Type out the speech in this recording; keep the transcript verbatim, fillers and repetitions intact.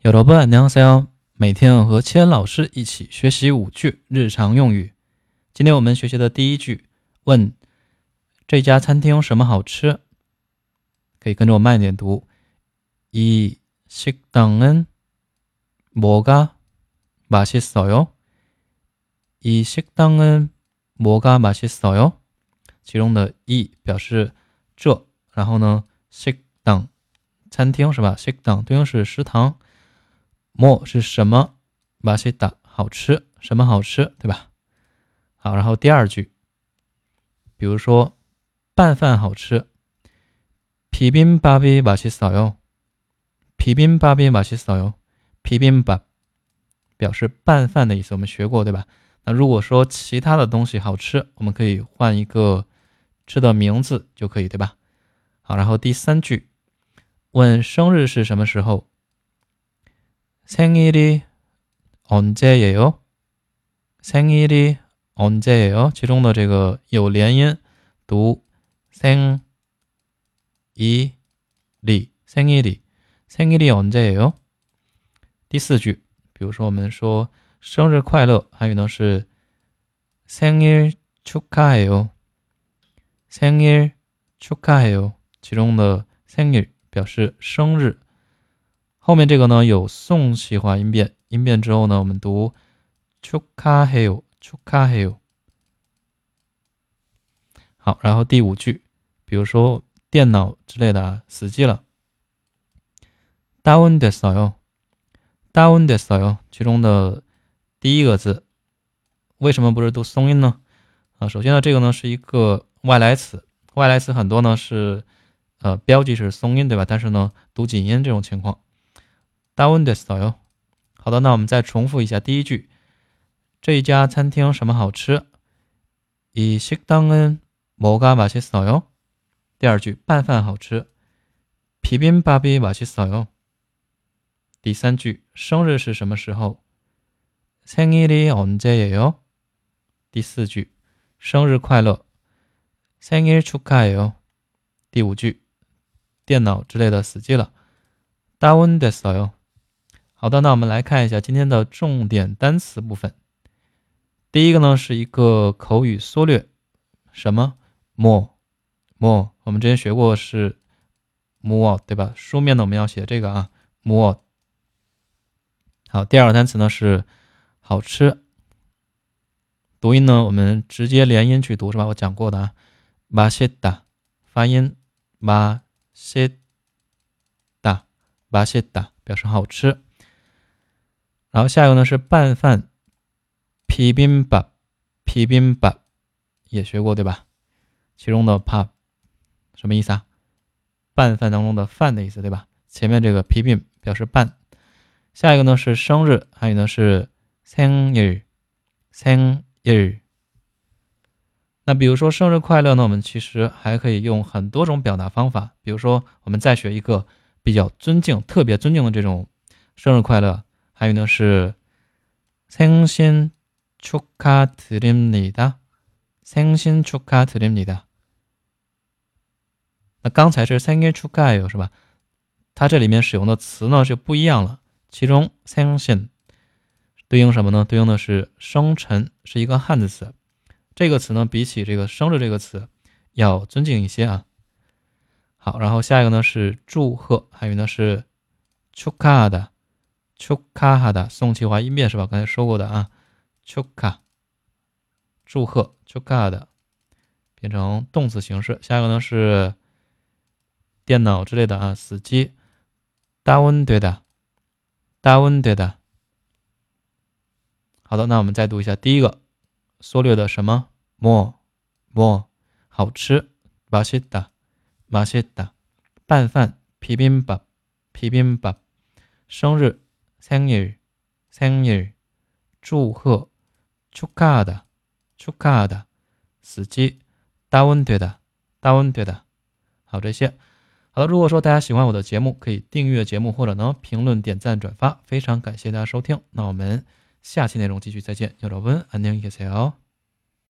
여러분 안녕하세요。每天和千老师一起学习五句日常用语。今天我们学习的第一句，问这家餐厅什么好吃？可以跟着我慢一点读。이 식당은 뭐가 맛있어요? 이 식당은 뭐가 맛있어요? 其中的이表示这，然后呢식당餐厅是吧？식당对应是食堂。뭐是什么？맛있다好吃，什么好吃，对吧？好，然后第二句，比如说拌饭好吃，비빔밥이 맛있어요。비빔밥이 맛있어요。비빔밥表示拌饭的意思，我们学过，对吧？那如果说其他的东西好吃，我们可以换一个吃的名字就可以，对吧？好，然后第三句，问生日是什么时候？생일이 언제예요? 생일이 언제예요? 其中的这个有连音，读 생일이 생일이 생일이 언제예요? 第四句，比如说我们说生日快乐，还有呢是 생일 축하해요 생일 축하해요 其中的 생일表示生日，后面这个呢有送气化音变，音变之后呢我们读 축하해요 축하해요。 好，然后第五句，比如说电脑之类的啊死机了， 다운됐어요 다운됐어요 其中的第一个字为什么不是读松音呢？啊，首先呢这个呢是一个外来词，外来词很多呢是呃标记是松音，对吧？但是呢读紧音这种情况。다운됐어요。 好的，那我们再重复一下第一句，这一家餐厅什么好吃？이 식당은 뭐가 맛있어요？ 第二句，拌饭好吃， 비빔밥이 맛있어요。 第三句，生日是什么时候？ 생일이 언제예요？ 第四句，生日快乐， 생일 축하해요。 第五句，电脑之类的死机了， 다운됐어요。好的，那我们来看一下今天的重点单词部分。第一个呢是一个口语缩略，什么 more more 我们之前学过是 more 对吧？书面呢我们要写这个啊 more。好，第二个单词呢是好吃，读音呢我们直接连音去读是吧？我讲过的啊 맛있다 发音 맛있다 맛있다表示好吃。然后下一个呢是拌饭 비빔밥 비빔밥 也学过对吧？其中的 밥 什么意思啊？拌饭当中的饭的意思对吧？前面这个 비빔表示拌。下一个呢是生日，还有呢是 생일 생일。 那比如说生日快乐呢，我们其实还可以用很多种表达方法，比如说我们再学一个比较尊敬特别尊敬的这种生日快乐，还有呢是 생신 축하드립니다 생신 축하드립니다。 那刚才是 생일 축하해요是吧？它这里面使用的词呢就不一样了，其中 생신对应什么呢？对应的是生辰，是一个汉字词。这个词呢比起这个生日这个词要尊敬一些啊。好，然后下一个呢是祝贺，还有呢是 축하하다 축하하다送气化音变是吧？刚才说过的啊 축하 祝贺 축하하다变成动词形式。下一个呢是电脑之类的啊死机 다운되다 다운되다。 好的，那我们再读一下第一个缩略的什么 more more 好吃 맛있다 맛있다 拌饭 비빔밥 비빔밥 生日 생일 생일 祝贺 축하하다 축하하다 死机 다운되다 다운되다。 好，这些好的，如果说大家喜欢我的节目，可以订阅节目或者呢评论点赞转发，非常感谢大家收听。那我们下期内容继续再见，여러분 안녕히 계세요。